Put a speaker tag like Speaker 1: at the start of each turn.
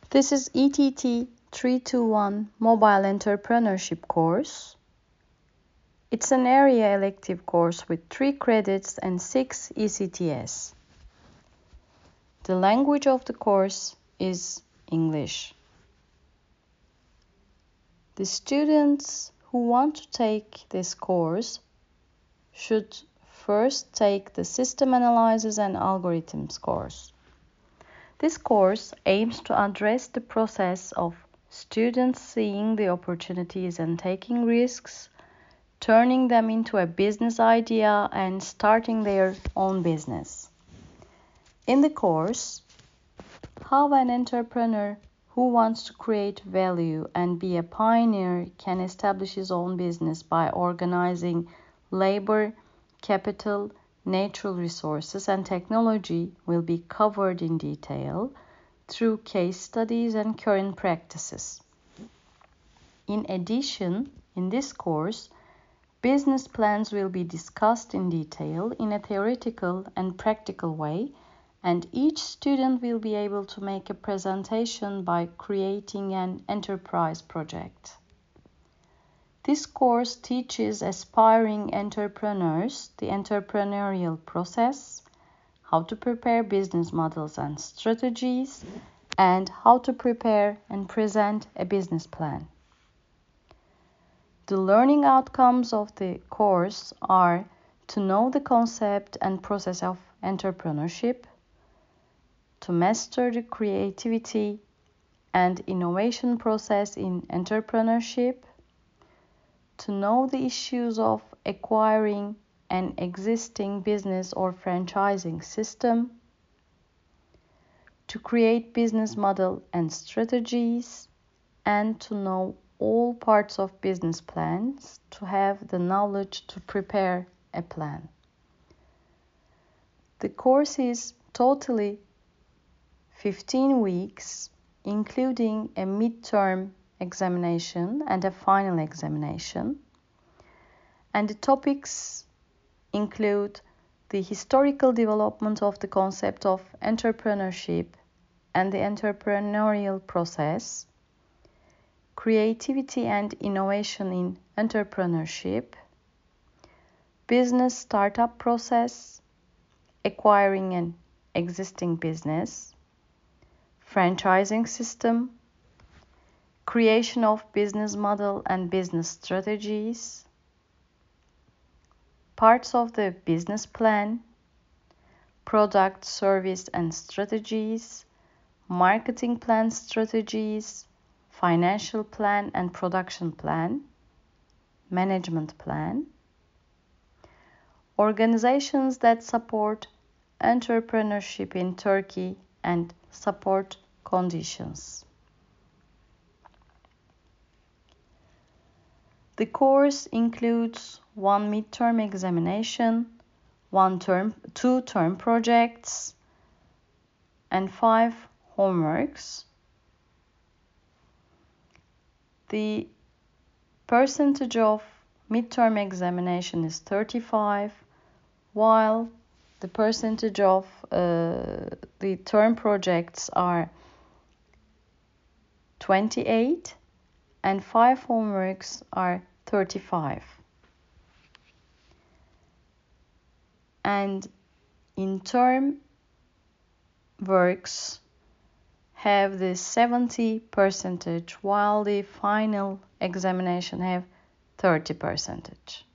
Speaker 1: This is ETT 321 Mobile Entrepreneurship course. It's an area elective course with 3 credits and 6 ECTS. The language of the course is English. The students who want to take this course should first take the System Analysis and Algorithms course. This course aims to address the process of students seeing the opportunities and taking risks, turning them into a business idea and starting their own business. In the course, how an entrepreneur who wants to create value and be a pioneer can establish his own business by organizing labor, capital, natural resources, and technology will be covered in detail through case studies and current practices. In addition, in this course, business plans will be discussed in detail in a theoretical and practical way, and each student will be able to make a presentation by creating an enterprise project. This course teaches aspiring entrepreneurs the entrepreneurial process, how to prepare business models and strategies, and how to prepare and present a business plan. The learning outcomes of the course are to know the concept and process of entrepreneurship, to master the creativity and innovation process in entrepreneurship, to know the issues of acquiring an existing business or franchising system, to create business model and strategies, and to know all parts of business plans, to have the knowledge to prepare a plan. The course is totally 15 weeks, including a midterm examination and a final examination. And the topics include the historical development of the concept of entrepreneurship and the entrepreneurial process, creativity and innovation in entrepreneurship, business startup process, acquiring an existing business, franchising system, creation of business model and business strategies, parts of the business plan, product, service and strategies, marketing plan strategies, financial plan and production plan, management plan, organizations that support entrepreneurship in Turkey and support conditions. The course includes 1 midterm examination, 2 term projects, and 5 homeworks. The percentage of midterm examination is 35, while the percentage of the term projects are 28, and 5 homeworks are 35. And in term works have the 70%, while the final examination have 30%.